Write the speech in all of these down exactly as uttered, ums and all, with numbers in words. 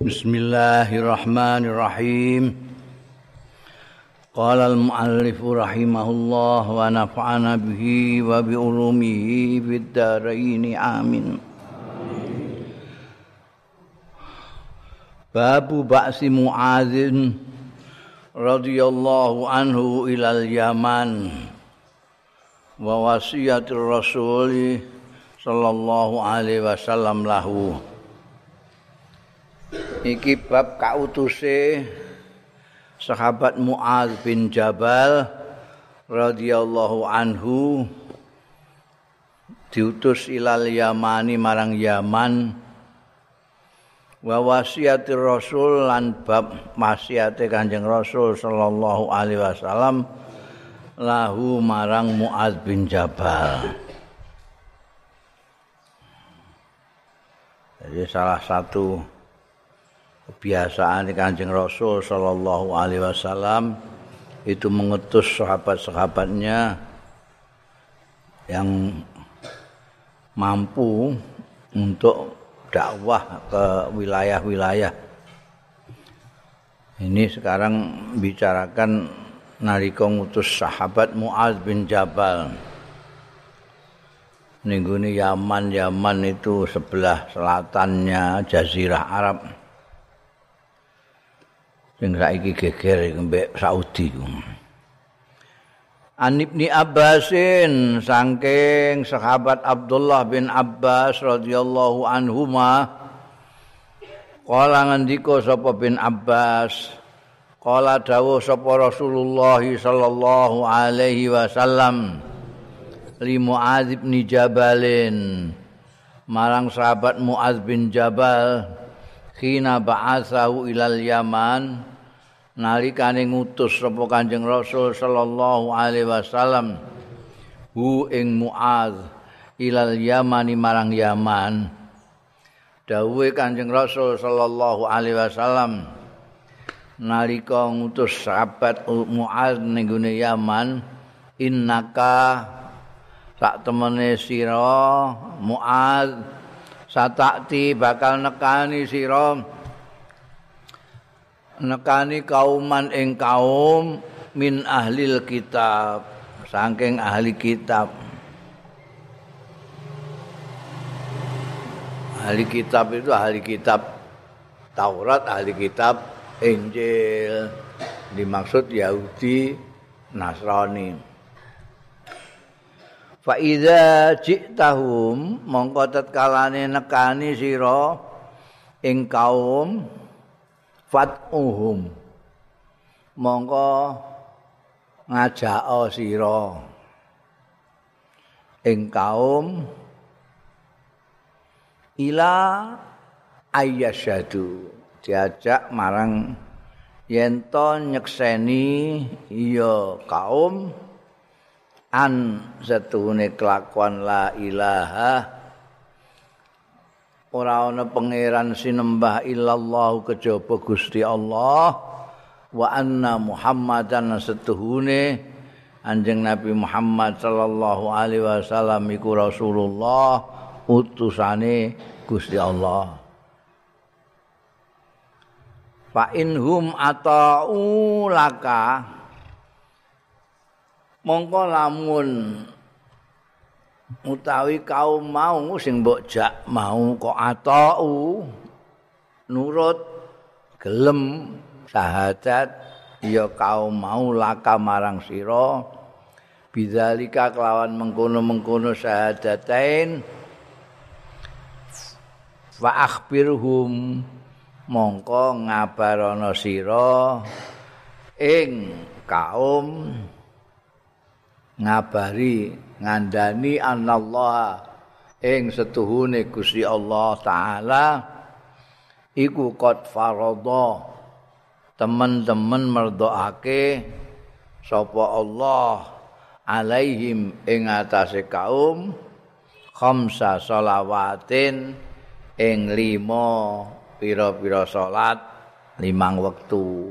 Bismillahirrahmanirrahim. Qala al-muallif rahimahullah wa nafa'ana bihi wa bi ulumihi fid dharain amin. Babu ba'si Mu'adzin radhiyallahu anhu ilal Yaman wa wasiyatir Rasul sallallahu alaihi wasallam lahu. Iki bab kautuse sahabat Mu'adz bin Jabal radhiyallahu anhu diutus ilal Yamani marang Yaman wa wasiatir Rasul lan bab wasiate Kanjeng Rasul sallallahu alaihi wasallam lahu marang Mu'adz bin Jabal. Jadi salah satu kebiasaan Kanjeng Rasul sallallahu alaihi wasallam itu mengutus sahabat-sahabatnya yang mampu untuk dakwah ke wilayah-wilayah. Ini sekarang bicarakan nalika ngutus sahabat Mu'adz bin Jabal. Ningguni Yaman, Yaman itu sebelah selatannya Jazirah Arab. Sing saiki geger mbek Saudi ku. An Ibni Abbasin saking sahabat Abdullah bin Abbas radhiyallahu anhuma qala ngendika sapa bin Abbas qala dawuh sapa Rasulullah sallallahu alaihi wasallam li Mu'adz bin Jabalin marang sahabat Mu'adz bin Jabal khina ba'atsahu ilal Yaman nalikane ngutus sapa Kanjeng Rasul sallallahu alaihi wasallam hu ing Mu'adz ilal Yamani marang Yaman. Dawuhe Kanjeng Rasul sallallahu alaihi wasallam nalika ngutus sahabat Mu'adz ning gone Yaman, innaka sak temene sira Mu'adz satakti bakal nekani sira nekani kauman ing kaum min ahlil kitab saking ahli kitab. Ahli kitab itu ahli kitab Taurat, ahli kitab Injil, dimaksud Yahudi, Nasrani. Fa iza ji'tahum mongko tatkalane nekani sira ing kaum fat'uhum mongko ngajak sira ing kaum ila ayyasyadu diajak marang yen to nyekseni ya kaum an satune kelakuan la ilaha ora ana pangeran sinembah illallah kejaba Gusti Allah wa anna Muhammadan setuhune Anjing Nabi Muhammad sallallahu alaihi wasallam iku Rasulullah utusane Gusti Allah. Fa inhum ata'u laka mongko lamun utawi kaum mau sing mbok jak mau kok atau nurut gelem syahadat ya kaum mau laka marang sira bidzalika kelawan mengkono-mengkono syahadatain fa akhbirhum mongko ngabarana sira ing kaum ngabari ngandani anallah ing setuhune Gusti Allah taala iku qad faradha teman-teman merdoake sapa Allah alaihim ing atase kaum khamsa shalawatin ing lima pira-pira salat limang wektu.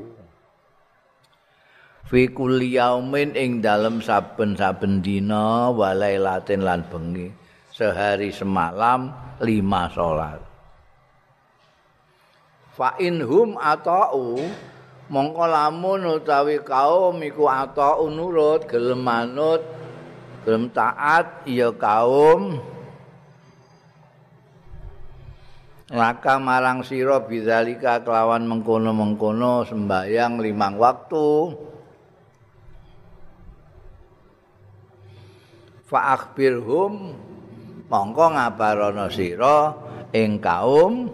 Fi kulli yaumin ing dalem saben-saben dina walailatin lan bengi sehari semalam lima salat. fa inhum ata'u mongko lamun utawi kaum iku ata'u nurut gelem manut gelem taat ya kaum laka marang sira bidzalika kelawan mengkono-mengkono sembayang limang waktu fa akhbirhum mongko ngabarana sira ing kaum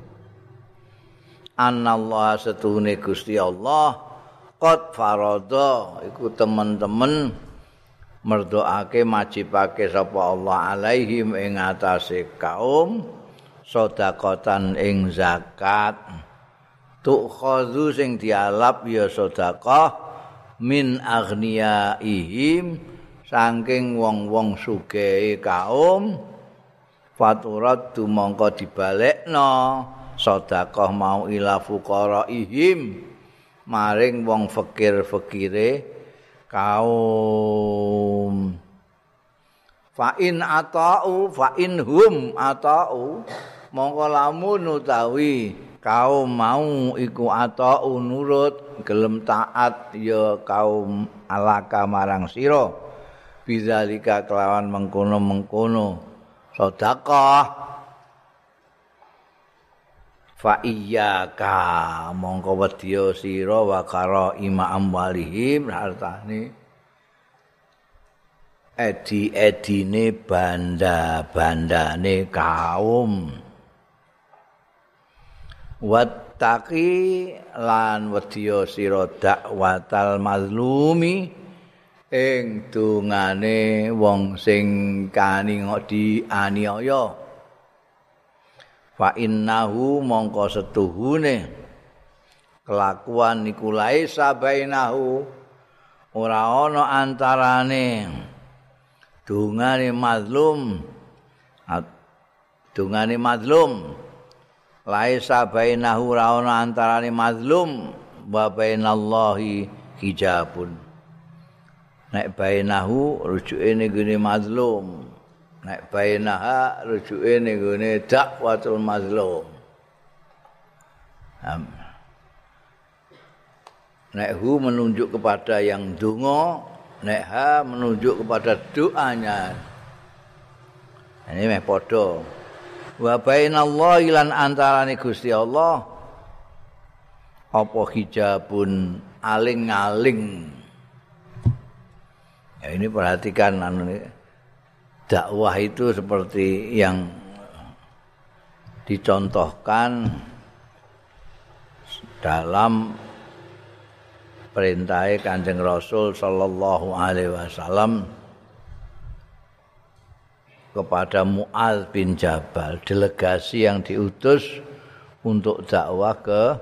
anallah setune Gusti Allah qad farada iku temen-temen merdoake majibake sapa Allah alaihim ing atase kaum sedekatan ing zakat tukhadhu sing dialap ya sedekah min aghniyaihim saking wong-wong sugih kaum faturat dumangka dibalekno sedekah mau ila fuqaraihim maring wong fakir-fakire kaum fa in ata'u fa in hum ata'u mongko lamun utawi kaum mau iku ata'u nurut gelem taat ya kaum alaka marang sira bidzalika kelawan mengkono-mengkono sedekah fa iyyaka mongko wedya sira wa kara ima amwalihim hartane edi-edine banda-bandane kaum wattaqi lan wedya sira dakwatal mazlumi ing dungane wong sing kaning dianiaya fa innahu mongko setuhune kelakuan niku laisa bainahu ora ana antarane dungane mazlum dungane mazlum laisa bainahu ora ana antarane mazlum wa bainallahi hijabun nek bainahu rujuke ning gone mazlum nek bainaha rujuke ning gone dakwatul mazlum nek hu menunjuk kepada yang donga nek ha menunjuk kepada doanya ini meh padha wa bainallahi lan antarané Gusti Allah apa hijabun aling-aling ya ini perhatikan anu dakwah itu seperti yang dicontohkan dalam perintah Kanjeng Rasul sallallahu alaihi wasallam kepada Mu'adz bin Jabal, delegasi yang diutus untuk dakwah ke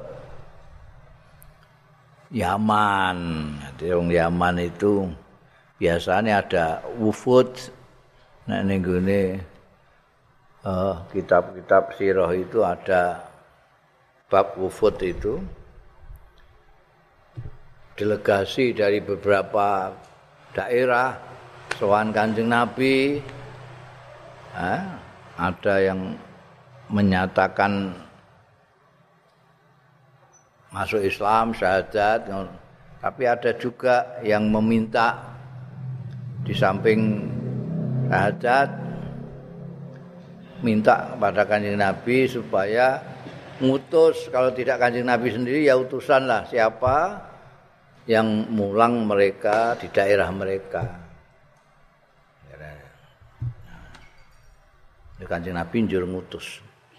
Yaman. Jadi orang Yaman itu biasanya ada wufud. Nah ning gone uh, kitab-kitab sirah itu ada bab wufud itu. Delegasi dari beberapa daerah sowan Kanjeng Nabi. Nah, ada yang menyatakan masuk Islam syahadat, tapi ada juga yang meminta di samping syahadat minta kepada Kanjeng Nabi supaya ngutus, kalau tidak Kanjeng Nabi sendiri ya utusan lah siapa yang mulang mereka di daerah mereka. Kanjeng Nabi njur ngutus.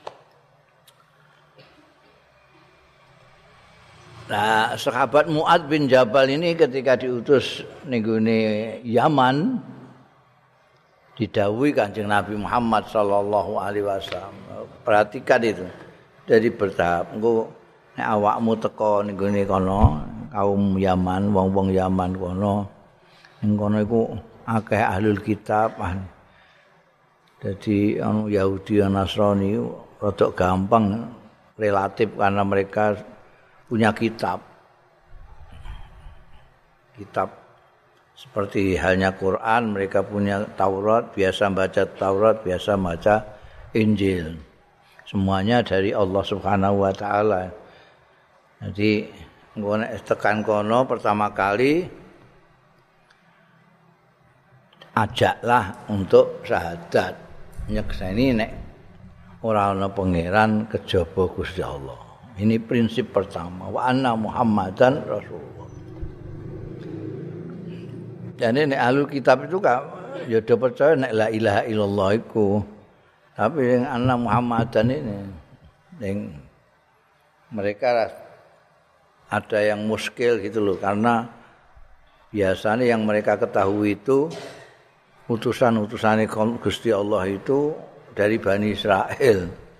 Nah, sahabat Mu'adz bin Jabal ini ketika diutus ning gone Yaman didhawuhi Kanjeng Nabi Muhammad sallallahu alaihi wasallam. Perhatikan itu. Dari bertahap. Engko nek awakmu teka ning gone kono, kaum Yaman, wong-wong Yaman kono, ning kono iku akeh ahlul kitab. Jadi anu Yahudi dan Nasrani rada gampang relatif karena mereka punya kitab. Kitab seperti halnya Quran, mereka punya Taurat, biasa baca Taurat, biasa baca Injil. semuanya dari Allah Subhanahu wa taala. Jadi ngono tekan kono pertama kali ajaklah untuk syahadat. Nyekseni nek ora ana pangeran kejaba Gusti Allah. Ini prinsip pertama, wa anna Muhammadan Rasulullah. Jadi nek ahlul kitab itu kan ya do percaya nek la ilaha illallah iku. Tapi yang anna Muhammadan ini yang mereka ada yang muskil gitu loh, karena biasanya yang mereka ketahui itu utusan-utusan Gusti Allah itu dari Bani Israel.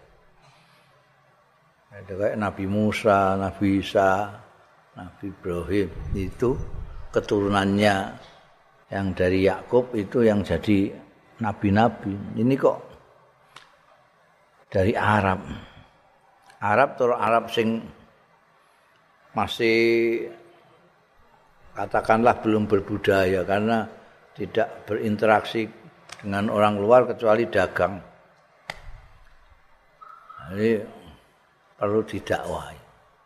Ada kayak Nabi Musa, Nabi Isa, Nabi Ibrahim, itu keturunannya yang dari Yakub itu yang jadi nabi-nabi. Ini kok dari Arab. Arab terus Arab sing masih katakanlah belum berbudaya karena tidak berinteraksi dengan orang luar kecuali dagang. Jadi perlu didakwahi.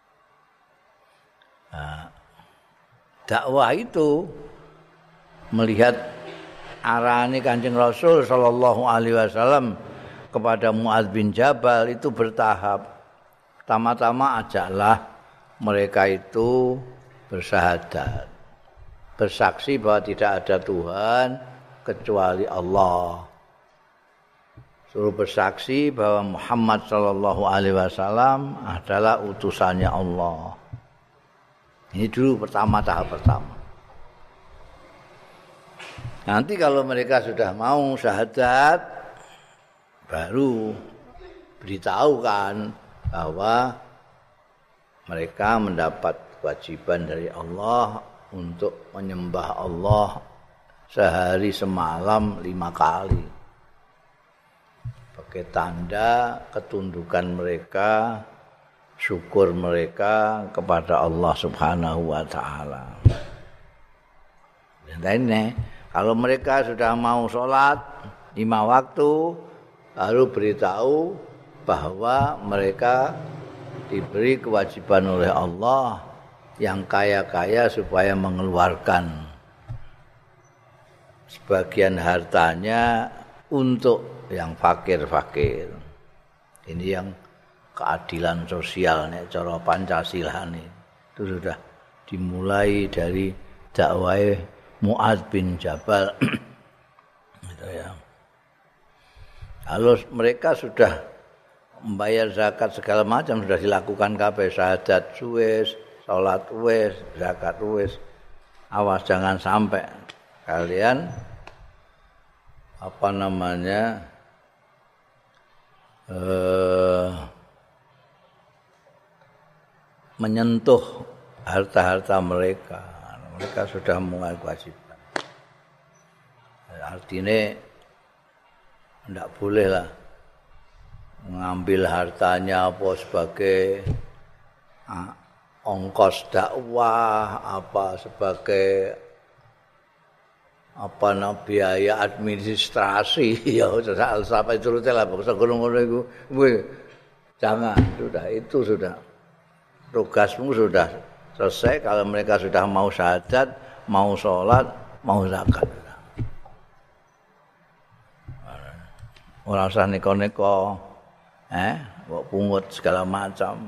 Nah, dakwah itu melihat arahane Kanjeng Rasul sallallahu alaihi wasallam kepada Muadz bin Jabal itu bertahap. Pertama-tama ajaklah mereka itu bersyahadat, bersaksi bahwa tidak ada Tuhan kecuali Allah. Suruh bersaksi bahwa Muhammad sallallahu alaihi wasallam adalah utusannya Allah. Ini dulu pertama, tahap pertama. Nanti kalau mereka sudah mau syahadat, baru beritahukan bahwa mereka mendapat kewajiban dari Allah untuk menyembah Allah sehari semalam lima kali. Pakai tanda ketundukan mereka, syukur mereka kepada Allah Subhanahu wa taala. Dan ini kalau mereka sudah mau sholat lima waktu, baru beritahu bahwa mereka diberi kewajiban oleh Allah yang kaya-kaya supaya mengeluarkan sebagian hartanya untuk yang fakir-fakir. Ini yang keadilan sosial nek cara Pancasila nih. Itu sudah dimulai dari dakwah Muadz bin Jabal. Gitu ya. Kalau mereka sudah membayar zakat segala macam sudah dilakukan kabeh, syahadat wis, salat wis, zakat wis. Awas jangan sampai kalian apa namanya eh, menyentuh harta-harta mereka. Mereka sudah mulai kewajiban. Artinya tidak boleh lah mengambil hartanya apa sebagai ah, ongkos dakwah, apa sebagai apa nah, biaya administrasi ya sampai itu lah bangsa ngono iku jangan, sudah itu sudah tugasmu sudah selesai. Kalau mereka sudah mau syahadat, mau sholat, mau zakat, ora usah neko-neko eh kok pungut segala macam.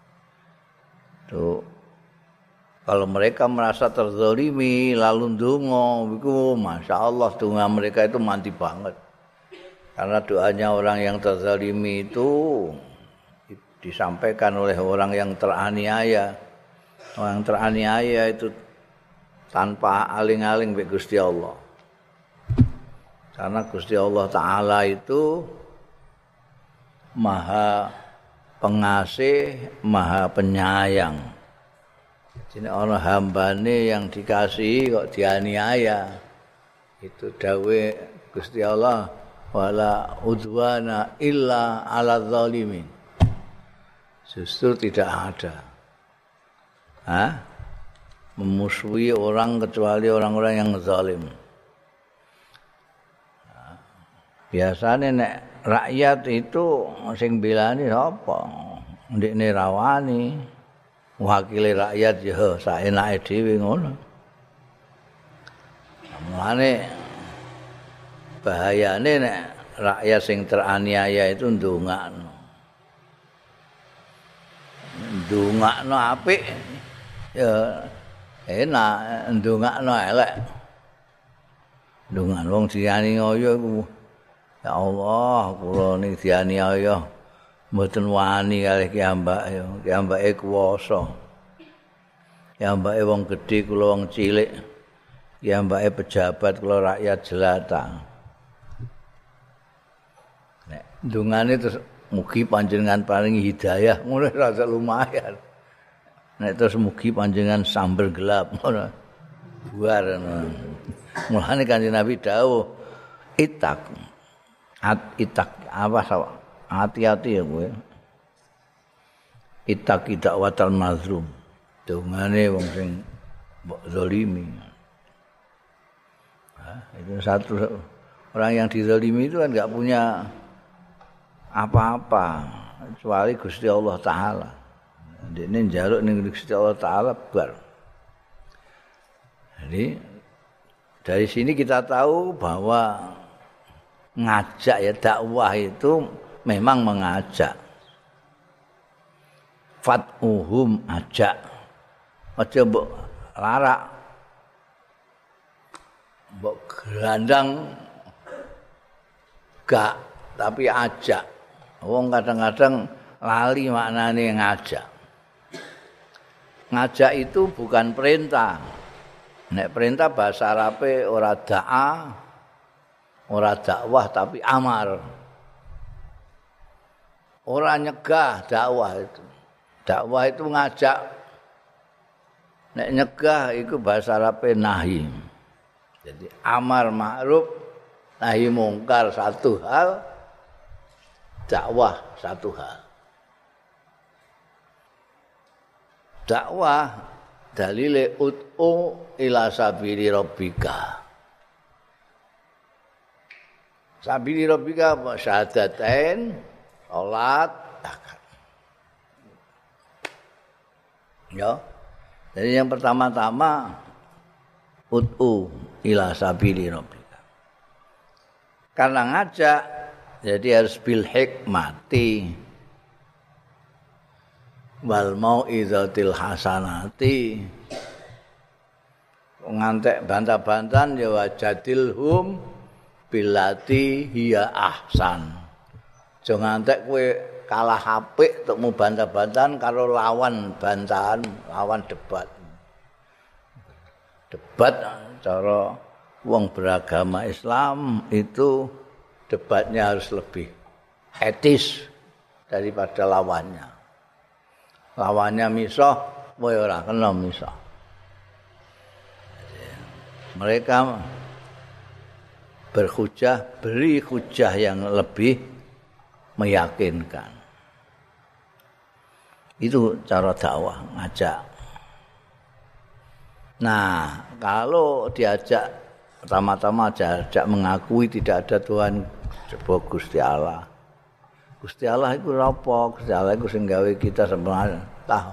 Tuh kalau mereka merasa terzalimi lalu ndonga iku masyaallah donga mereka itu mati banget. Karena doanya orang yang terzalimi itu disampaikan oleh orang yang teraniaya. Orang teraniaya itu tanpa aling-aling be Gusti Allah. Karena Gusti Allah Ta'ala itu Maha Pengasih, Maha Penyayang. Jadi orang hambane yang dikasihi kok dianiaya. Itu dawe Gusti Allah, wala udwana illa ala zalimin. Justru tidak ada. Hah? Memusuhi orang kecuali orang-orang yang zalim. Biasanya nek rakyat itu sing belani sapa? Ndekne rawani. Wakile rakyat ya saenake dhewe ngono. Mulane bahayane nek rakyat sing teraniaya itu ndongakno. Ndongakno apik ya enak, ndongakno elek. Ndongan wong dianiaya iku ya Allah, kula niki dianiaya mboten wani kalih kiambake, kiambake kuwasa. Kiambake wong gedhe kula wong cilik. Kiambake pejabat kula rakyat jelata. Nek ndongane terus mugi panjenengan paringi hidayah, ngono rasa lumayan. Nek terus mugi panjenengan sambel gelap ngono. Buar ngono. Mulane Kanjeng Nabi dawuh itak. At itak apa sawah? Hati-hati ya kowe. Itak dakwatal mazlum. Dongane wong sing mbok zalimi. Nah, itu satu orang yang dizalimi itu kan enggak punya apa-apa kecuali Gusti Allah taala. Dene njaluk ning Gusti Allah taala bar. Jadi dari sini kita tahu bahwa ngajak ya dakwah itu memang mengajak. Fat'uhum ajak. Aja mbok larak. Mbok gerandang gak tapi ajak. Wong kadang-kadang lali maknane ngajak. Ngajak itu bukan perintah. Nek perintah bahasa Arabe ora da'a, ora dakwah tapi amar. Ora nyegah dakwah itu. Dakwah itu ngajak. Nek nyegah itu bahasa Arabe nahi. Jadi amar ma'ruf, nahi mungkar satu hal, dakwah satu hal. Dakwah dalile ut'u ila sabili rabbika. Sabili rabbika syahadatain, salat, zakat. Ya. Jadi yang pertama-tama ut'u ila sabili rabbika. Karena ngajak jadi harus bil hikmati wal mau'izatil hasanati. Ngantek bantah-bantahan ya wajadilhum billati hiya ahsan. Aja ngantek kowe kalah apik untuk bantah-bantahan karo lawan bantahan, lawan debat. Debat cara wong beragama Islam itu debatnya harus lebih etis daripada lawannya. Lawannya misah, kowe ora kena misah. Mereka berhujah, beri hujah yang lebih meyakinkan. Itu cara dakwah, ngajak. Nah, kalau diajak pertama-tama diajak mengakui tidak ada Tuhan sebab Gusti Allah. Gusti Allah itu apa? Gusti Allah itu sing gawe kita sebenarnya tahu.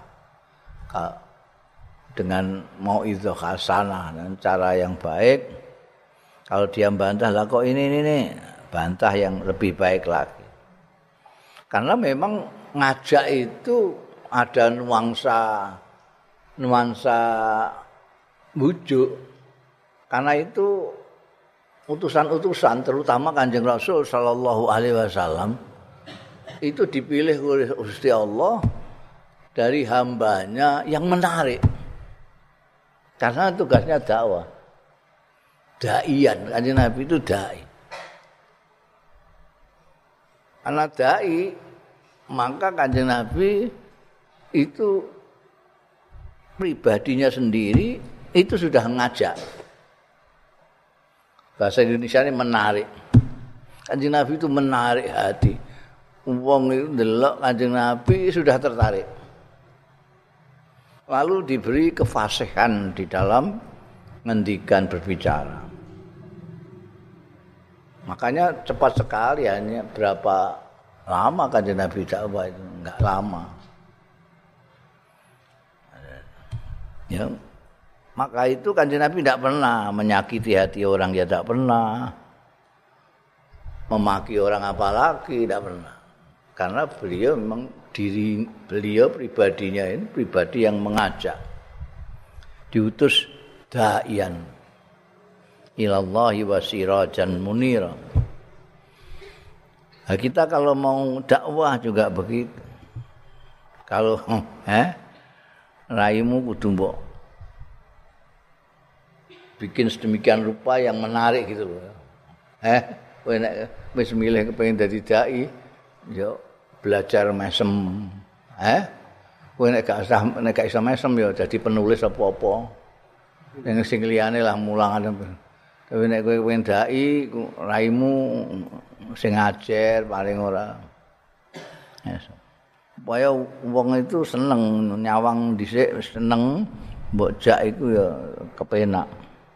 Dengan mau'izah hasanah dan cara yang baik. Kalau dia bantah lah kok ini ini nih, bantah yang lebih baik lagi. Karena memang ngajak itu ada nuansa nuansa bujuk. Karena itu utusan-utusan terutama Kanjeng Rasul sallallahu alaihi wasallam itu dipilih oleh Gusti Allah dari hambanya yang menarik. Karena tugasnya dakwah. Daian, Kanjeng Nabi itu dai. Karena dai, maka Kanjeng Nabi itu pribadinya sendiri itu sudah ngajak. Bahasa Indonesia ini menarik. Kanjeng Nabi itu menarik hati. Wong itu ndelok Kanjeng Nabi sudah tertarik. Lalu diberi kefasihan di dalam ngendikan berbicara. Makanya cepat sekali, hanya berapa lama Kanjeng Nabi dakwah itu, enggak lama. Ya, maka itu Kanjeng Nabi tidak pernah menyakiti hati orang, ya tidak pernah memaki orang apalagi, tidak pernah. Karena beliau memang diri beliau pribadinya ini pribadi yang mengajak, diutus da'ian ilallahi wa sirajan munira. Nah, kita kalau mau dakwah juga begitu. Kalau eh raimu kudu mbok bikin sedemikian rupa yang menarik gitu loh. Eh, kowe nek wis milih kepengin dadi dai, yo belajar mesem. Eh, kowe nek gak usah nek gak iso mesem yo dadi penulis apa-apa. Yang sing liyane lah mulangan. Tapi nek kowe pengen dai, raimu sing ngajar paling ora. Yes. Supaya wong itu seneng nyawang dhisik seneng, mbok jak iku ya kepenak.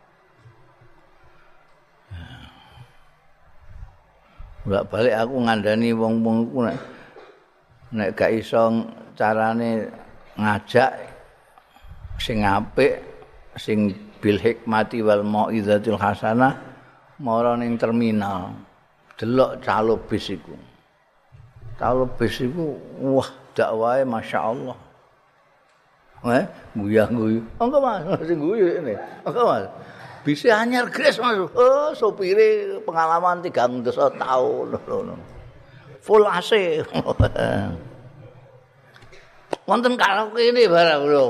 Bolak balik aku ngandani wong-wong ku nek nek gak iso carane ngajak sing apik, sing bil hikmati wal mau'izatil hasanah mara ning terminal delok calo bis iku. Calo bis iku wah dakwahe masyaallah. Eh, guyah-guyu. Engko Mas, sing guyu ini. Engko Mas. Bise anyar gres Mas. Oh, sopire pengalaman tiga puluh tahun ngono. Full A C. Wonten karaoke ini barang lho.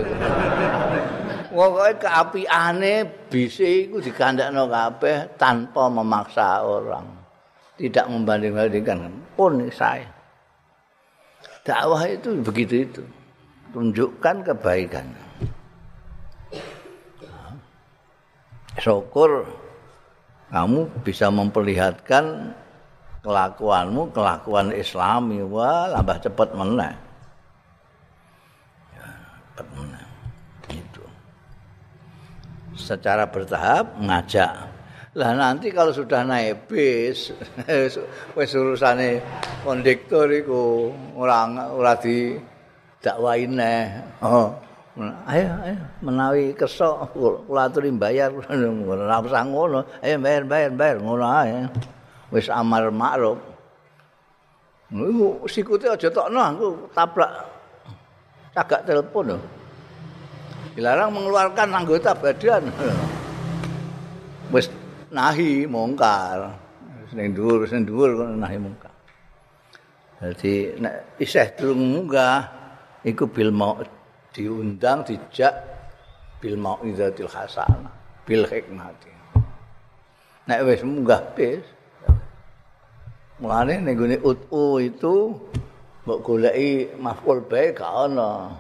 Pokoke keapiane bise iku digandakno kabeh tanpa memaksa orang. Tidak membanding-bandingkan pun saya. Dakwah itu begitu itu. Tunjukkan kebaikan. Syukur kamu bisa memperlihatkan kelakuanmu, kelakuan Islami. Wah, tambah cepat meneh. Ya, cepat meneh. Itu. Secara bertahap ngajak. Lah nanti kalau sudah naik bis, wis urusane kondektur iku ora ora di dakwahi neh. Oh. Ayo ayo menawi kesok kula aturi bayar ora usah ngono. Ayo bayar bayar bayar ngono ae. Wis amar makruf. Iku sikute aja tokno aku tabrak cagak telepon lho. Dilarang mengeluarkan anggota badan. Wis nahi mungkar. Sing dhuwur sing dhuwur kono nahi mungkar. Dadi nek isih durung munggah iku bil mau diundang dijak bil mau'izatil hasanah bil hikmati. Nek wis munggah bis. Mulane ning gone ut'u itu mbok goleki maf'ul bae gak ana.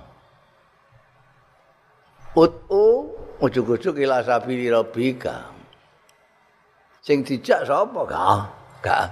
Ut'u ujug-ujug ila sabili rabbika. Sing dijak sapa? Gak, gak.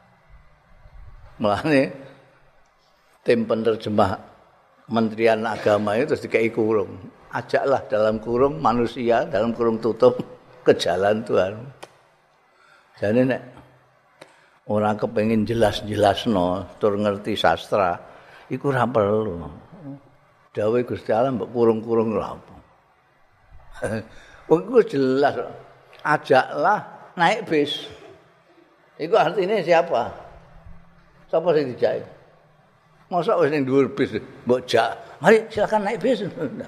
Mulane tim penerjemah Kementerian Agama itu terus dikei kurung. Ajaklah dalam kurung manusia, dalam kurung tutup ke jalan Tuhan. Jadi nek orang kepengin jelas-jelasno, tur ngerti sastra, iku ora perlu. Dawuh Gusti Allah mbok kurung-kurung lho apa. Wong iku jelas. Ajaklah naik bis. Iku artinya siapa? Siapa sing dijak? Masa wis ning dhuwur bis mbok jak. Mari silakan naik bis.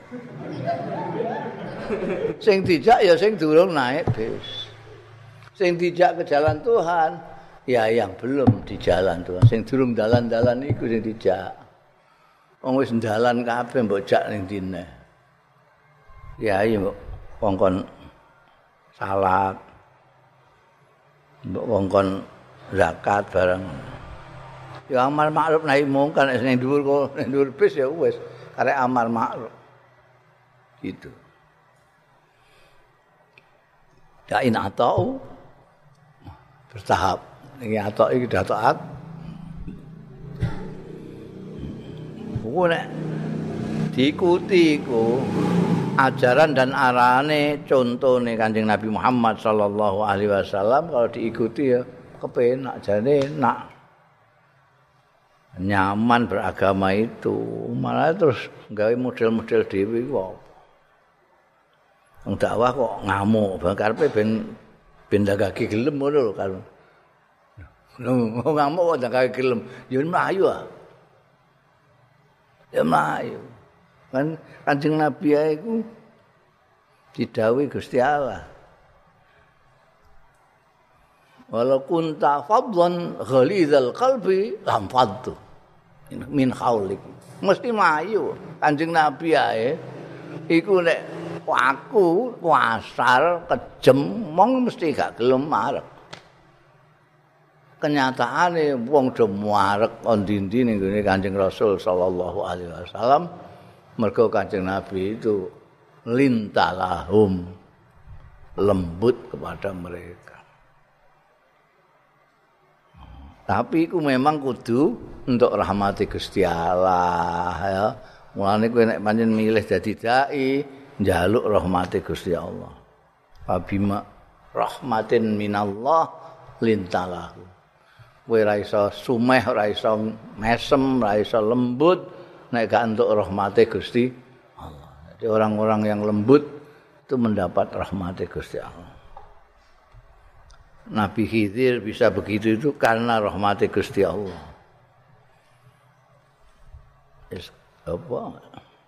Sing dijak ya sing durung naik bis. Sing dijak ke jalan Tuhan ya yang belum di jalan Tuhan. Sing durung dalan-dalan iku sing dijak. Wong wis dalan kabeh mbok jak ning dine. Ya iya mbok kongkon salat. Mbok kongkon zakat bareng. Ya amar makruf nahi mungkar nek ning dhuwur kok ning dhuwur bis ya wis karek amar makruf. Gitu. Ya in atau bertahap. Iki atok iki dah taat. Ku nek diikuti ku ajaran dan arane contone Kanjeng Nabi Muhammad sallallahu alaihi wasallam kalau diikuti ya kepenak jane enak. Nyaman beragama itu, malah terus gawe model-model dhewe kok. Wong dakwah kok ngamuk, karepe ben ben dagake gelem ngono lho kan. Lho ngamuk kok dagake gelem, ya mlayu ah. Ya mlayu. Kan Kanjeng Nabi ae iku didhawuhi Gusti Allah. Walau kunta fadlan ghalizal qalbi lam faddu min haulik. Mesti mlayu Kanjeng Nabi ae iku nek aku wasar kejem mong mesti gak gelem marek. Kenyataane wong do marek ndi-ndi ning gone Kanjeng Rasul sallallahu alaihi wasallam mergo Kanjeng Nabi itu lintalahum lembut kepada mereka. Tapi iku memang kudu untuk rahmati Gusti Allah ya. Mulane kowe nek pancen milih dadi dai, njaluk rahmati Gusti Allah. Fabima rahmatin minallah lintalahu. Kowe ora iso sumeh, ora iso mesem, ora iso lembut nek gak entuk rahmati Gusti Allah. Jadi orang-orang yang lembut itu mendapat rahmati Gusti Allah. Nabi Khidir bisa begitu itu karena rahmati Gusti Allah. Is apa?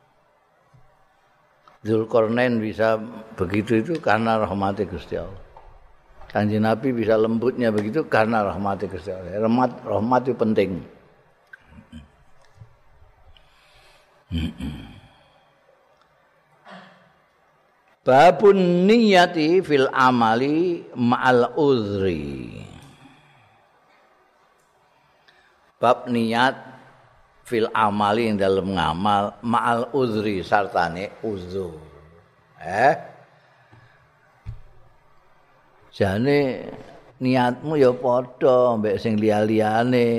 Dzulkarnain bisa begitu itu karena rahmati Gusti Allah. Kanjeng Nabi bisa lembutnya begitu karena rahmati Gusti Allah. Rahmat rahmat itu penting. Babun niyati fil amali ma'al uzri. Bab niat fil amali yang dalam ngamal ma'al uzri sartane uzur. Eh? Jane niatmu ya padha mbek sing liya-liyane.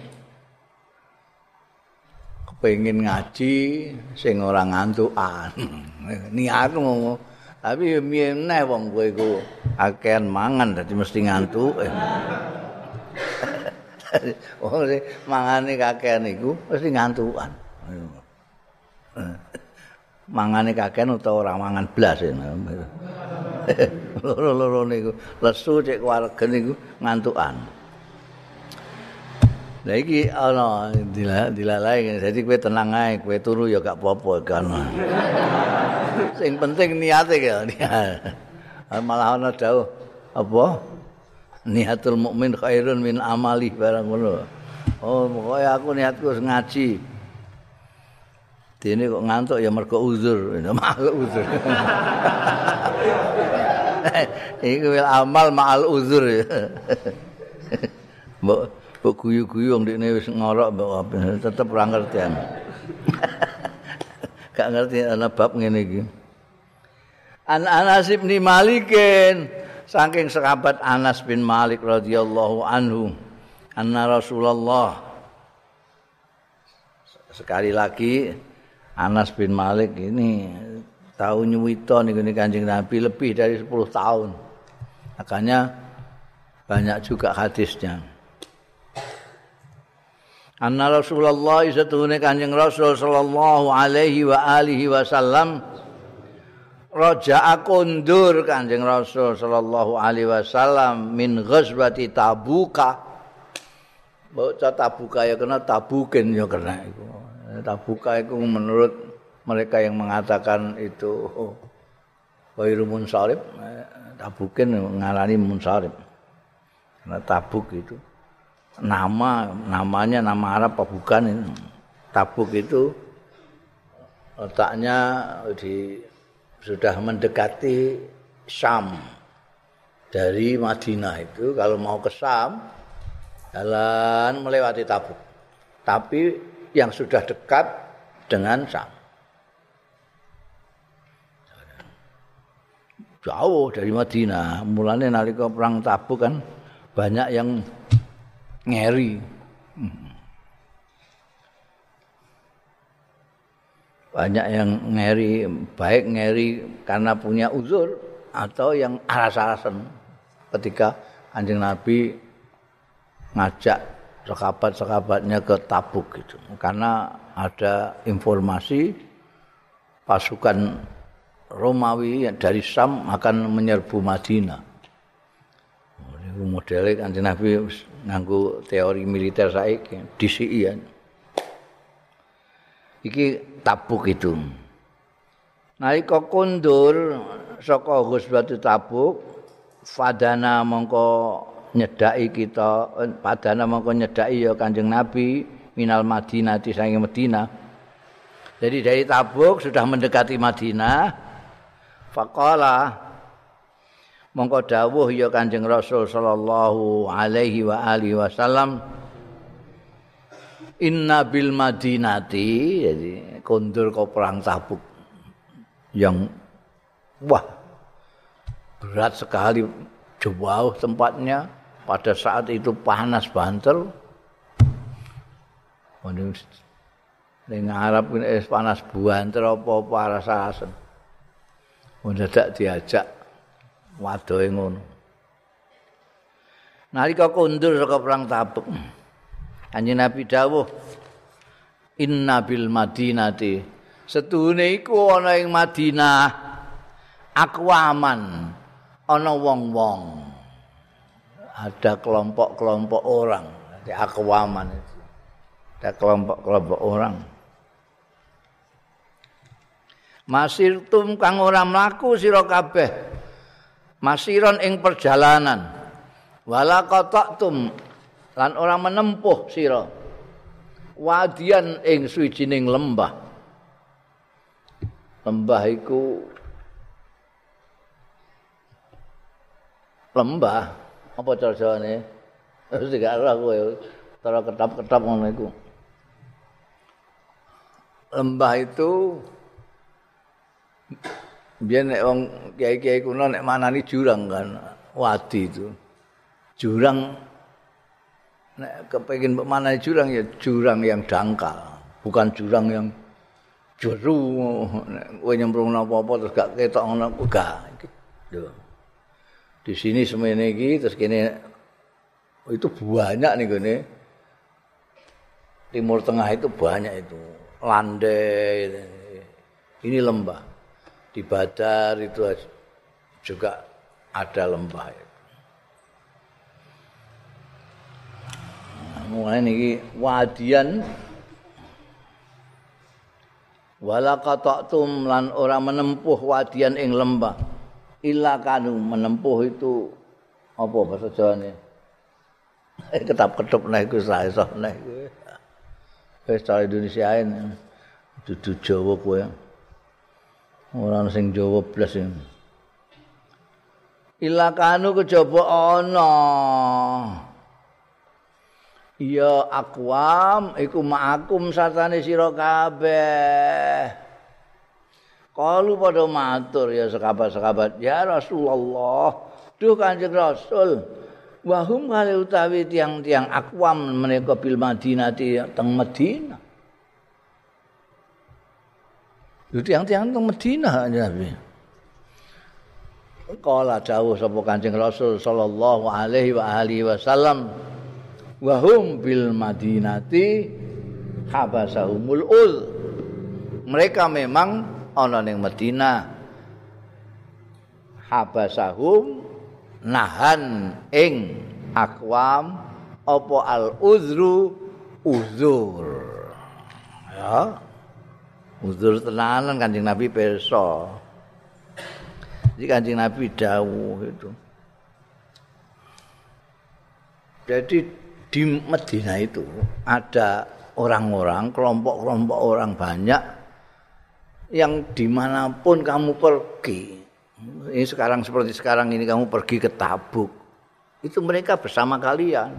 Kepengin ngaji sing ora ngantukan. Niatmu tapi meneh wong kowe iku akehan mangan dadi mesti ngantuk. Wong sing mangane kakehan iku mesti ngantukan. Mangane kakehan utawa ora mangan blas. Loro-loro niku lesu cek waregen niku ngantukan. Lah iki ana dilalai dadi kowe tenang ae, kowe turu ya gak apa-apa kan. Sing penting niate ya. Malah ana dawuh apa? Niatul mukmin khairun min amali barang ngono. Oh, pokoke aku niatku ngaji. Dene kok ngantuk ya mergo uzur, malah uzur. Iku wil amal ma'al uzur. Mbok mbok guyu-guyu wong dekne wis ngorok mbok tetep ora ngertian. Gak ngerti ana bab ngene iki. An Anas bin Malikin saking sahabat Anas bin Malik radhiyallahu anhu anna Rasulullah sekali lagi Anas bin Malik ini tahu nyuwita niku Kanjeng Nabi lebih dari sepuluh tahun. Makanya banyak juga hadisnya. Anna Rasulullah satune Kanjeng Rasul sallallahu alaihi wa alihi wasallam raja'a kundur Kanjeng Rasul sallallahu alaihi wasallam min ghazwati Tabuka. Bocah Tabuka ya kena Tabuken ya kena iku. Tabuka itu menurut mereka yang mengatakan itu Khairu Munsharib, Tabuken ngarani Munsharib. Karena Tabuk itu nama namanya nama Arab apa bukan ini. Tabuk itu letaknya di sudah mendekati Syam. Dari Madinah itu kalau mau ke Syam jalan melewati Tabuk. Tapi yang sudah dekat dengan Syam. Jauh dari Madinah. Mulane nalika perang Tabuk kan banyak yang ngeri. Banyak yang ngeri, baik ngeri karena punya uzur atau yang aras-arasan ketika Kanjeng Nabi ngajak sahabat-sahabatnya ke Tabuk gitu. Karena ada informasi pasukan Romawi dari Syam akan menyerbu Madinah. Niku modele Kanjeng Nabi nganggo teori militer saiki, D C I ya. Iki Tabuk itu. Nalika kondur saka Ghazwatul Tabuk, fadana mongko nyedaki kita, padana mongko nyedaki ya Kanjeng Nabi minal Madinah saking Madinah. Jadi dari Tabuk sudah mendekati Madinah. Faqala mongko dawuh ya Kanjeng Rasul sallallahu alaihi wa alihi wasallam, inna bil Madinati, jadi kondur ke perang Tabuk yang wah berat sekali, jauh tempatnya, pada saat itu panas banter. Ning Arab ini panas banter apa-apa rasa-rasen. Mendadak diajak wadohe ngono. Nalika kondur saka perang Tabuk, Kanjeng Nabi dawuh, inna bil Madinati, setuhune iku ana ing Madinah akwaman, ana wong-wong, ada kelompok-kelompok orang, di akwaman itu ada kelompok-kelompok orang. Masirtum kang ora mlaku sira kabeh, masiron ing perjalanan, wala qata'tum lan ora menempuh sira wadian ing suwijining lembah. Lembah iku lembah apa cara Jawane? Wis gak ora kowe. Cara ketap-ketap ngono iku. Lembah itu biyen nek wong kiai-kiai kuno nek manani jurang kan, wadi itu. Jurang nek kepengin mbok manani jurang ya jurang yang dangkal, bukan jurang yang jeru nek kowe nyemplung apa-apa terus gak ketok ngono gak. Lho. Di sini semene iki terus kene itu banyak nih gini. Timur Tengah itu banyak itu, landai. Ini lembah. Di Badar itu juga ada lembah itu. Mulai niki wadian wala qata'tum lan ora menempuh wadian ing lembah. Illa kanu menempuh itu apa bahasa Jawane? Ketap-ketep nek iku sae nek kowe. Wis cara Indonesiain dudu Jawa kowe. Ora sing Jawa blas sing. Illa kanu kejaba ana. Ya aqwam iku ma'akum satane sira kabeh. Kalu pada matur ya sahabat-sahabat, ya Rasulullah, duh Kanjeng Rasul, wahum kali utawi tiang-tiang akwam menika bil Madinati teng Madinah. Itu tiang-tiang teng Madinah Nabi. Kala dawuh sapa Kanjeng Rasul sallallahu alaihi wa alihi wasallam, wahum bil Madinati habasahumul ul. Mereka memang ana ning Madinah, habasahum nahan ing akwam apa al uzru uzur. Ya. Uzur tenanan Kanjeng Nabi pirsa. Jadi Kanjeng Nabi dawuh itu. Jadi di Madinah itu ada orang-orang, kelompok-kelompok orang banyak yang dimanapun kamu pergi, ini sekarang seperti sekarang ini kamu pergi ke Tabuk, itu mereka bersama kalian.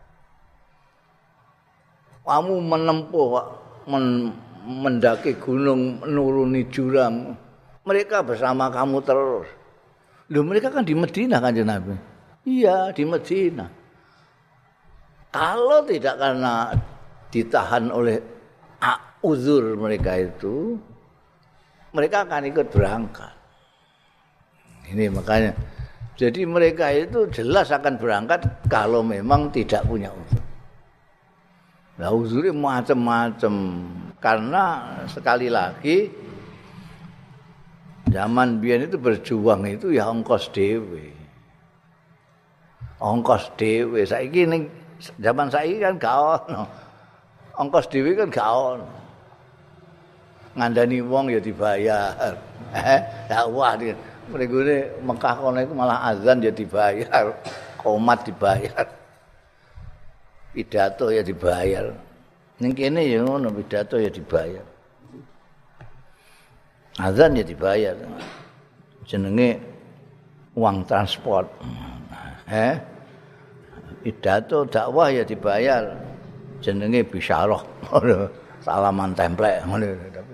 Kamu menempuh, men, mendaki gunung, menuruni jurang, mereka bersama kamu terus. Loh, mereka kan di Madinah kan Nabi? Iya, di Madinah. Kalau tidak karena ditahan oleh uzur mereka itu, mereka akan ikut berangkat. Ini makanya Jadi mereka itu jelas akan berangkat kalau memang tidak punya uzur. Nah, uzurnya macam-macam karena sekali lagi zaman biyen itu berjuang itu ya ongkos dhewe. Ongkos dhewe. Saiki ning zaman saiki kan gak ono. Ongkos dhewe kan gak ono. Ngandani wong ya dibayar. Eh, dakwah iki. Mrene Mekah kono iku malah azan ya dibayar. Qomat dibayar. Pidato ya dibayar. Ning kene ya ngono, pidato ya dibayar. Azan ya dibayar. Jenenge uang transport. Eh? Pidato dakwah ya dibayar. Jenenge bisyarah. Salaman templek ngono.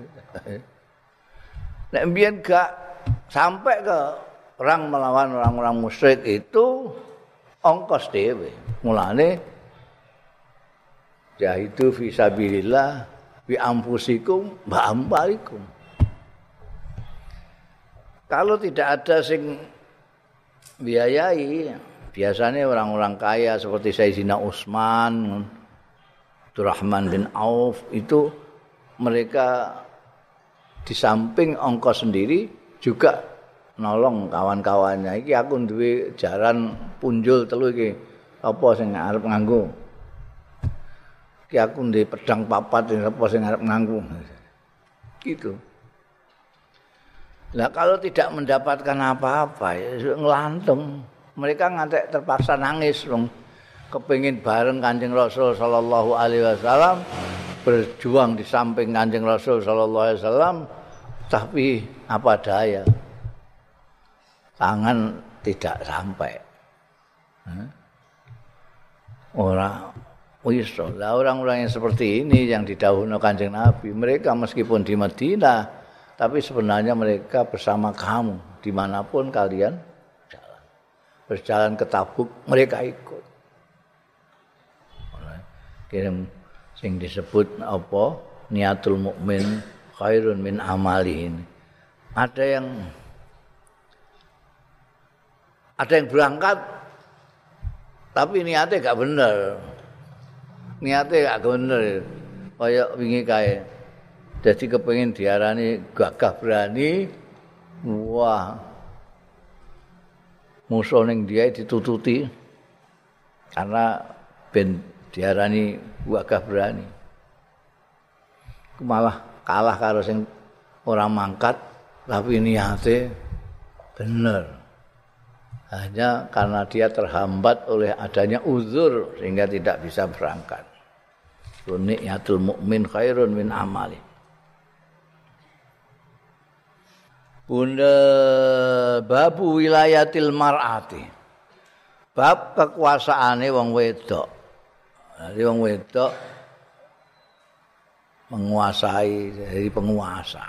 Nek mbiyen gak sampai ke perang melawan orang-orang musyrik itu ongkos dhewe. Mulane jahidu fi sabilillah bi anfusikum wa amwalikum. Kalau tidak ada sing biayai, biasanya orang-orang kaya seperti Sayyidina Utsman, Abdurrahman bin Auf itu mereka di samping ongkos sendiri juga nolong kawan-kawannya. Iki aku duwe jaran punjul telu iki. Apa sing arep nganggo? Iki aku ndek pedang papat apa sing arep nganggo. Gitu. Nah, kalau tidak mendapatkan apa-apa ya nglantung. Mereka ngantek terpaksa nangis dong. Kepengin bareng Kanjeng Rasul sallallahu alaihi wasallam, berjuang di samping Kanjeng Rasul sallallahu alaihi wasallam, tapi apa daya? Tangan tidak sampai. Orang wis lah orang-orang yang seperti ini yang didhawuhna Kanjeng Nabi, mereka meskipun di Madinah, tapi sebenarnya mereka bersama kamu dimanapun kalian jalan. Berjalan ke Tabuk, mereka ikut. Kirim sing disebut apa? Niatul mukmin khairun min amalihi. Ada yang ada yang berangkat tapi niatnya gak bener. Niatnya gak bener. Kayak wingi kae. Jadi kepengin diarani gagah berani. Wah. Musuh ning dia ditututi. Karena ben diarani gagah berani. Malah kalah karo sing ora mangkat tapi niate bener. Hanya karena dia terhambat oleh adanya uzur sehingga tidak bisa berangkat. Niyatul mukmin khairun min amali. Bunda babu wilayatil mar'ati. Bab kekuasaane wong wedok. Jadi wong wedok menguasai dari penguasa.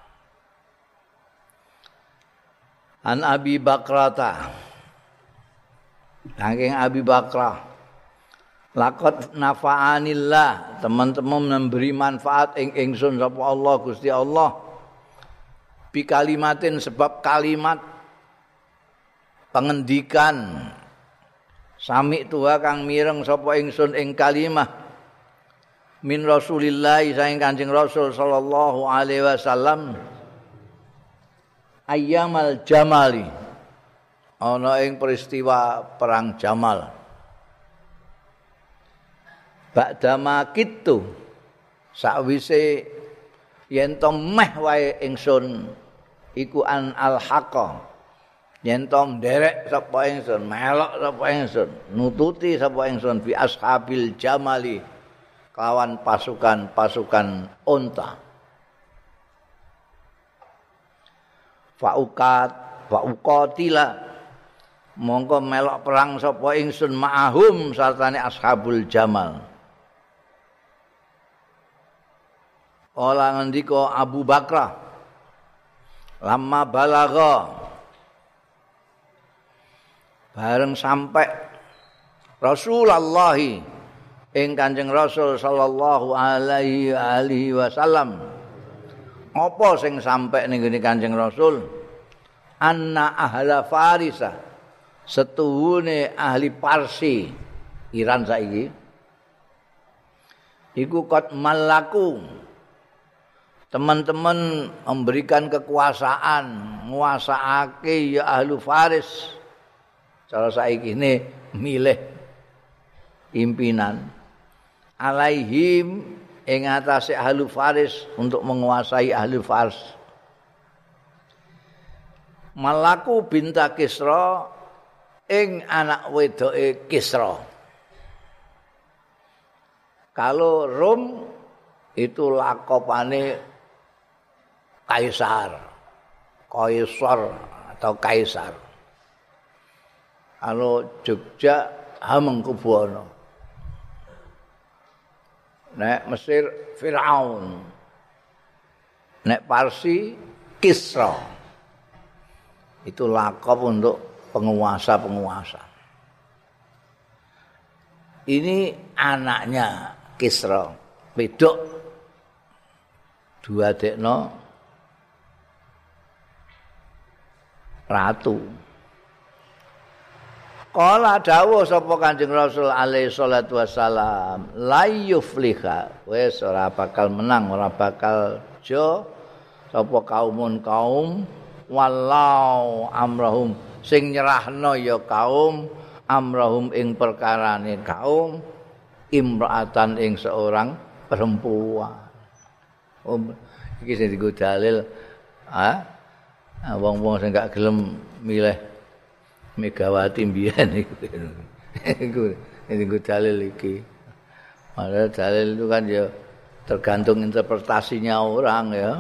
An Abi Bakrata. Saking Abi Bakrah. Laqad nafa'anillah, teman-teman memberi manfaat ing ingsun sapa Allah Gusti Allah. Bi kalimatin sebab kalimat pengendikan sami tuwa kang mireng sapa ingsun ing kalimah min Rasulillah saking Kanjeng Rasul sallallahu alaihi wasallam ayyamal jamali ana ing peristiwa perang Jamal. Ba'dama kitu sakwise yen to meh wae ingsun iku an al-haqa yen to nderek sapa ingsun melok sapa ingsun nututi sapa ingsun bi ashabil jamali kawan pasukan-pasukan unta. Fauqat fauqatila mongko melok perang sapa ingsun ma'ahum sartane ashabul jamal. Ola ngendika Abu Bakrah lama balagha bareng sampai Rasulullah ing Kanjeng Rasul sallallahu alaihi alihi wasallam. Apa sing sampai ning ngene Kanjeng Rasul? Anna ahla Farisa setuhune ahli Parsi Iran saiki iku kot malaku teman-teman memberikan kekuasaan nguasaake ya ahlu Faris cara saiki ini milih pimpinan alaihim ing atase ahlu Faris untuk menguasai ahli Fars. Malaku binta Kisra ing anak wedoke Kisra. Kalau Rom itu lakopane kaisar, kaisar atau kaisar. Kalau Jogja Hamengkubuwana. Nek Mesir Firaun. Nek Parsi Kisra. Itu lakop untuk penguasa-penguasa. Ini anaknya Kisra, wedok dua dekno ratu. Kala dawuh sapa Kanjeng Rasul alaihi salatu wassalam, la yufliha, wis ora bakal menang, ora bakal jo sapa kaumun kaum wallau amrahum sing nyerahno ya kaum amrahum ing perkarane kaum imra'atan ing seorang perempuan. Oh, iki sing digo dalil, ah, wong-wong sing gak gelem milih Megawati mbiyen iku. Iku digo dalil iki. Padahal dalil itu kan ya tergantung interpretasinya orang ya.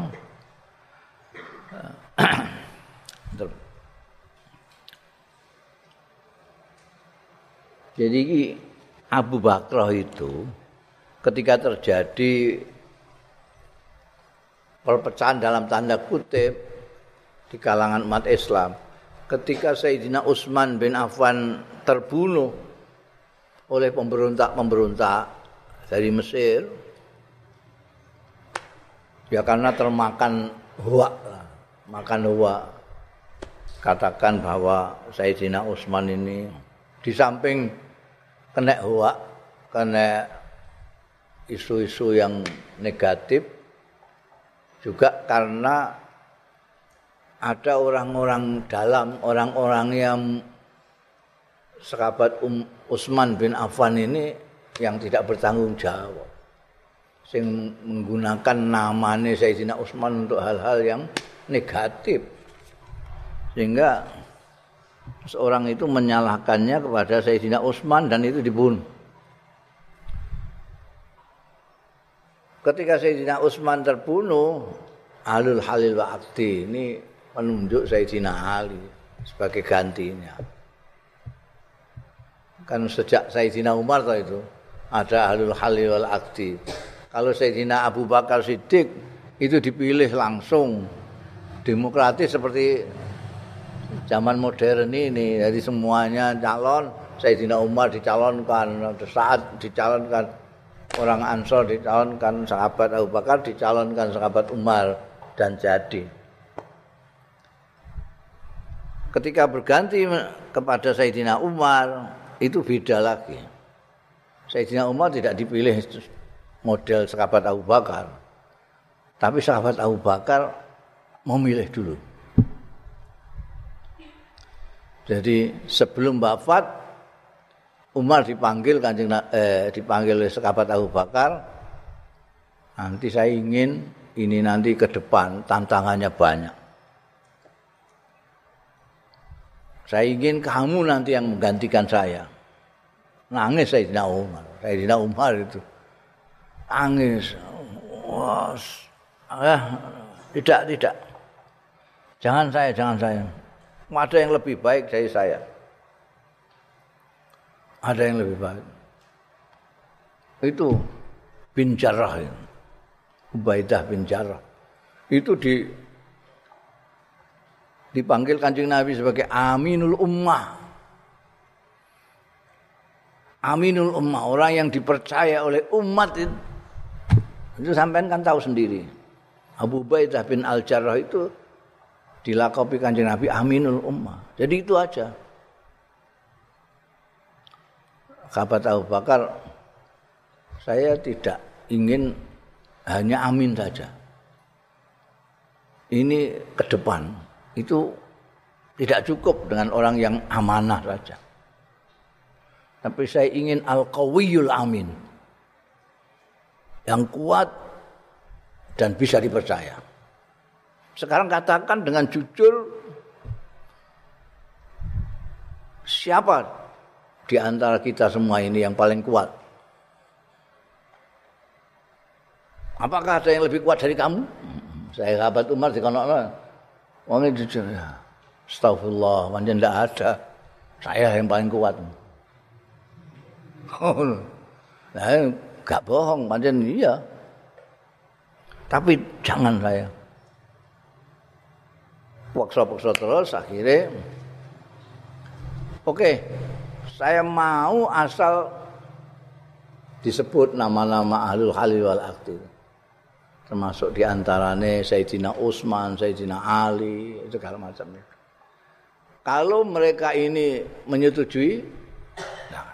Jadi Abu Bakar itu ketika terjadi perpecahan dalam tanda kutip di kalangan umat Islam, ketika Sayyidina Utsman bin Affan terbunuh oleh pemberontak-pemberontak dari Mesir, ya karena termakan hoak, makan hoak, katakan bahwa Sayyidina Utsman ini di samping kena hoak, kena isu-isu yang negatif, juga karena ada orang-orang dalam, orang-orang yang sahabat um, Utsman bin Affan ini yang tidak bertanggung jawab, sing menggunakan namanya Sayyidina Utsman untuk hal-hal yang negatif, sehingga seorang itu menyalahkannya kepada Sayyidina Utsman dan itu dibunuh. Ketika Sayyidina Utsman terbunuh, Ahlul Halil wa Aqdi ini menunjuk Sayyidina Ali sebagai gantinya. Kan sejak Sayyidina Umar toh itu ada Ahlul Halil wal Aqdi. Kalau Sayyidina Abu Bakar Siddiq itu dipilih langsung demokratis seperti zaman modern ini, jadi semuanya calon. Sayyidina Umar dicalonkan, saat dicalonkan orang Ansor, dicalonkan sahabat Abu Bakar, dicalonkan sahabat Umar, dan jadi. Ketika berganti kepada Sayyidina Umar, itu beda lagi. Sayyidina Umar tidak dipilih model sahabat Abu Bakar, tapi sahabat Abu Bakar memilih dulu. Jadi sebelum wafat Umar dipanggil kanjeng eh, dipanggil oleh sahabat Abu Bakar, nanti saya ingin ini nanti ke depan tantangannya banyak. Saya ingin kamu nanti yang menggantikan saya. Nangis Sayyidina Umar. Sayyidina Umar itu nangis. Wah, ah, tidak tidak. Jangan saya, jangan saya. Ada yang lebih baik dari saya. Ada yang lebih baik. Itu bin Jarrah, Ubaidah bin Jarrah. Itu di dipanggil Kanjeng Nabi sebagai Aminul Ummah. Aminul Ummah, orang yang dipercaya oleh umat itu. Itu sampean kan tahu sendiri. Abu Ubaidah bin Al-Jarrah itu dilakopi Kanjeng Nabi Aminul Ummah. Jadi itu aja. sahabat Abu Bakar, saya tidak ingin hanya amin saja. Ini ke depan itu tidak cukup dengan orang yang amanah saja. Tapi saya ingin al-qawiyul amin, yang kuat dan bisa dipercaya. Sekarang katakan dengan jujur, siapa di antara kita semua ini yang paling kuat? Apakah ada yang lebih kuat dari kamu? Saya sahabat Umar dikonokno. Wong jujur ya. Astagfirullah, pancen ndak ada. Saya yang paling kuat. Oh. Nah, enggak bohong, pancen iya. Tapi jangan saya. Paksa-paksa terus akhirnya oke, saya mau asal disebut nama-nama ahlul halil wal aqdi. Termasuk diantaranya Sayyidina Utsman, Sayyidina Ali, segala macamnya. Kalau mereka ini menyetujui, nah,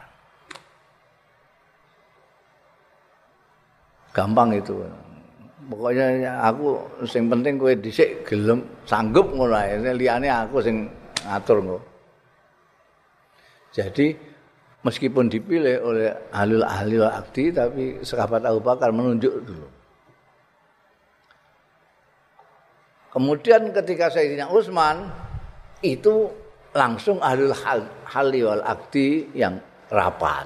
gampang itu. Pokoknya aku sing penting kowe dhisik gelem sanggup ngono ae, liyane aku sing ngatur ngono. Jadi meskipun dipilih oleh ahlul ahli wal aqdi, tapi sahabat Abu Bakar menunjuk dulu. Kemudian ketika Sayyidina Utsman itu langsung ahlul halli wal aqdi yang rapat.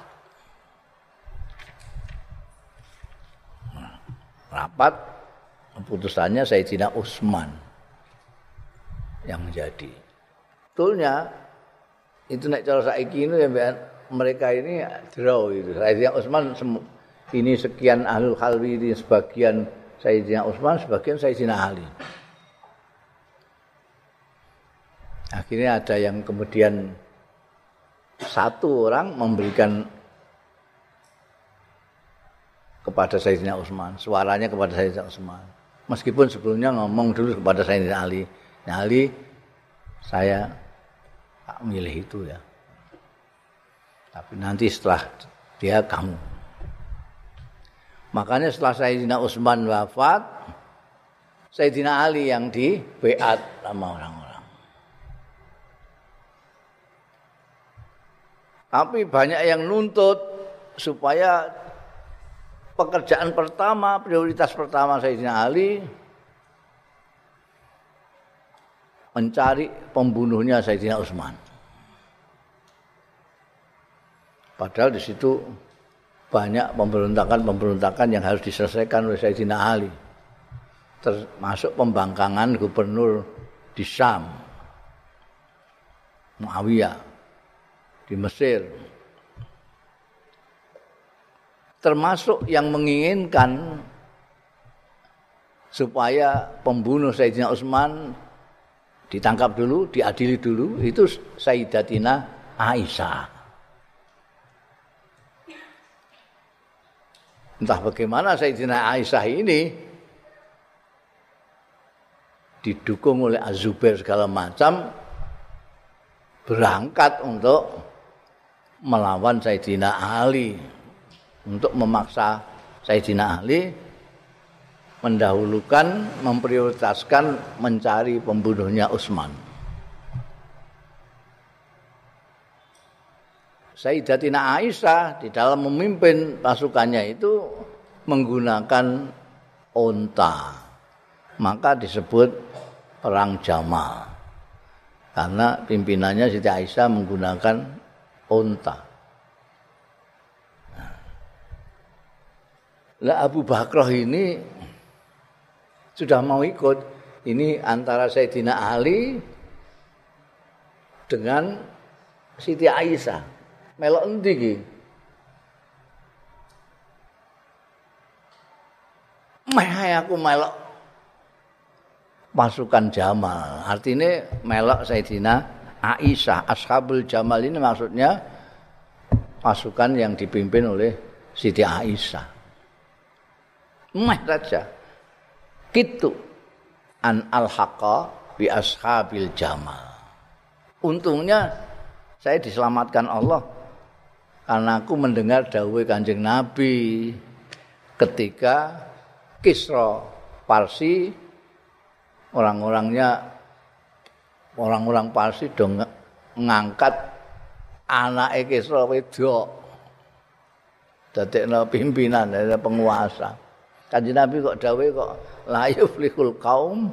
Rapat keputusannya Sayyidina Utsman yang menjadi. Betulnya itu nek cara saiki ini ya mereka ini draw itu. Sayyidina Utsman ini sekian ahlul halwi, ini sebagian Sayyidina Utsman, sebagian Sayyidina Ali. Akhirnya ada yang kemudian satu orang memberikan kepada Sayyidina Utsman, suaranya kepada Sayyidina Utsman. Meskipun sebelumnya ngomong dulu kepada Sayyidina Ali. Nah, Ali, saya tak milih itu ya. Tapi nanti setelah dia kamu. Makanya setelah Sayyidina Utsman wafat, Sayyidina Ali yang di baiat sama orang-orang. Tapi banyak yang nuntut supaya pekerjaan pertama, prioritas pertama Sayyidina Ali mencari pembunuhnya Sayyidina Utsman. Padahal di situ banyak pemberontakan-pemberontakan yang harus diselesaikan oleh Sayyidina Ali. Termasuk pembangkangan gubernur di Syam, Muawiyah, di Mesir. Termasuk yang menginginkan supaya pembunuh Sayyidina Utsman ditangkap dulu, diadili dulu, itu Sayyidatina Aisyah. Entah bagaimana Sayyidina Aisyah ini didukung oleh Az-Zubair segala macam berangkat untuk melawan Sayyidina Ali, untuk memaksa Sayyidina Ali mendahulukan, memprioritaskan mencari pembunuhnya Utsman. Sayyidatina Aisyah di dalam memimpin pasukannya itu menggunakan unta. Maka disebut perang Jamal. Karena pimpinannya Siti Aisyah menggunakan unta. Lah Abu Bakrah ini sudah mau ikut. Ini antara Sayyidina Ali dengan Siti Aisyah. Melok endi iki? Meh aku melok pasukan Jamal. Artinya melok Sayyidina Aisyah. Ashabul Jamal ini maksudnya pasukan yang dipimpin oleh Siti Aisyah. Meh saja. Kitu an al-haqa bi ashabil Jamal. Untungnya saya diselamatkan Allah karena aku mendengar dawuh Kanjeng Nabi ketika Kisra Parsi orang-orangnya orang-orang Parsi dong ngangkat anake Kisra wedok dadekno pimpinan dari penguasa. Kanjeng Nabi kok dawuh kok la yuflihul qaum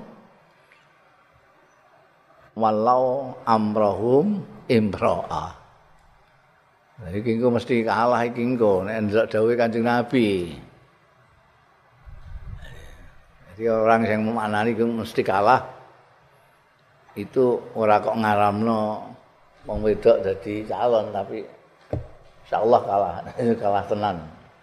walau amrahum imra'a. Nah, iki engko mesti kalah iki engko nek ndelok dawuhe Kanjeng Nabi. Jadi orang yang memaknani itu mesti kalah. Itu ora kok ngaramno wong wedok dadi calon tapi insyaallah kalah. Kalah tenan.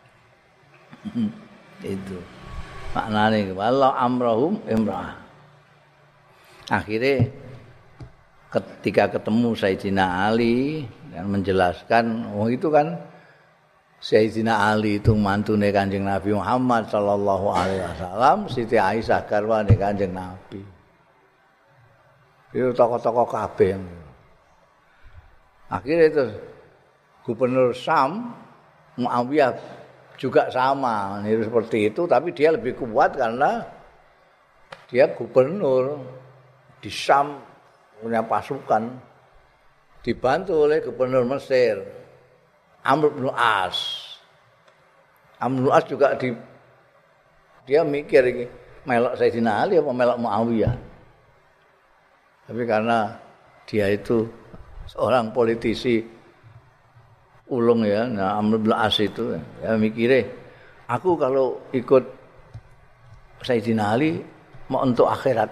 Itu maknane walau amrahum imra'ah. Akhirnya ketika ketemu Sayyidina Ali yang menjelaskan, oh itu kan Sayyidina Ali itu mantune Kanjeng Nabi Muhammad sallallahu alaihi wasallam, Siti Aisyah garwane Kanjeng Nabi. Itu tokoh-tokoh kabeh. Akhirnya itu Gubernur Syam Muawiyah juga sama, niru seperti itu, tapi dia lebih kuat karena dia gubernur di Syam, punya pasukan, dibantu oleh gubernur Mesir Amr bin As. Amr bin As juga di dia mikir iki melok Sayyidina Ali apa melok Muawiyah. Tapi karena dia itu seorang politisi ulung ya, nah Amr bin As itu ya mikire aku kalau ikut Sayyidina Ali mau untuk akhirat.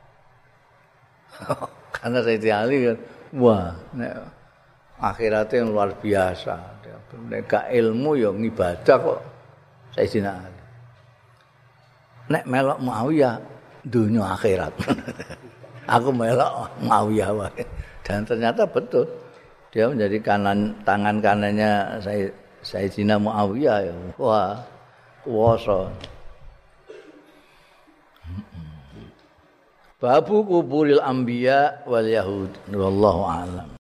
Karena Sayyidina Ali kan wah nek akhiratnya yang luar biasa. Nek gak ilmu ya ngibadah kok Sayyidina Ali. Nek melok Muawiyah dunia akhirat. Aku melok Muawiyah wae. Dan ternyata betul. Dia menjadi kanan tangan kanannya Sayyidina Muawiyah ya. Wah, kuwasa. Babu kuburil anbiya wal yahud wallahu a'lam.